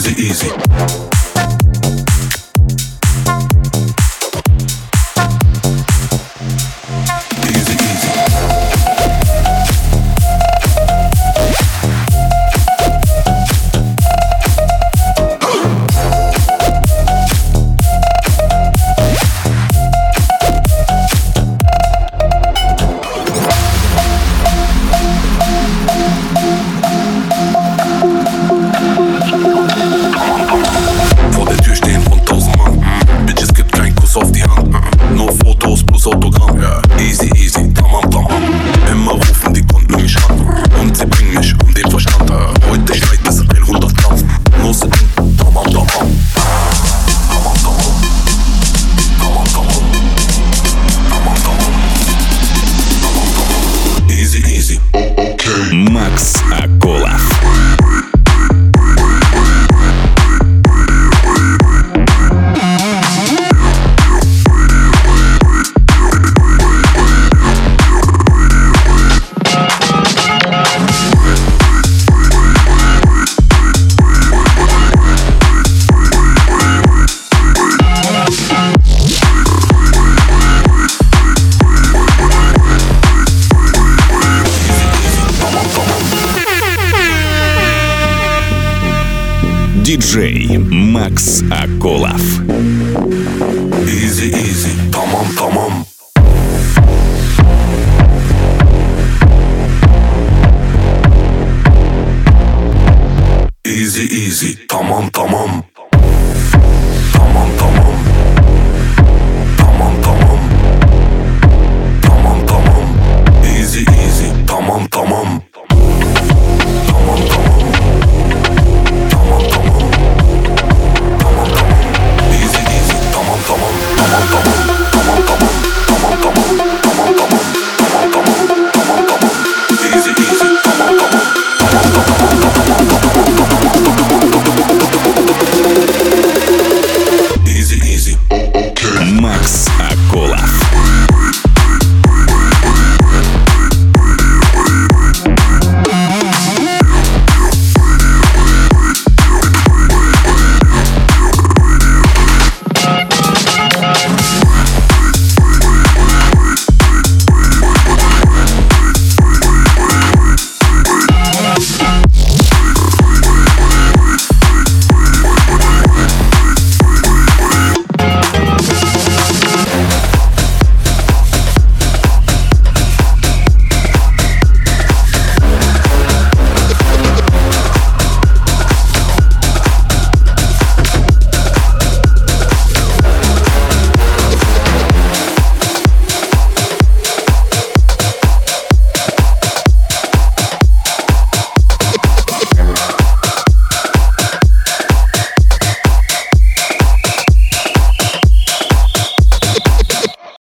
Easy, easy. Autogramm, ja. Easy, easy, tamam, tamam. Immer rufen die Kunden mich an und sie bringen mich um den Verstand. Heute schneit es 100 Gramm. Nur sind tamam, tamam. Tamam, tamam. Tamam, tamam. Tamam, tamam. Tamam, tamam. Easy, easy. Okay. Макс Акулов. Диджей Макс Акулов. Easy, easy, tamam, tamam. Easy, easy, tamam, tamam.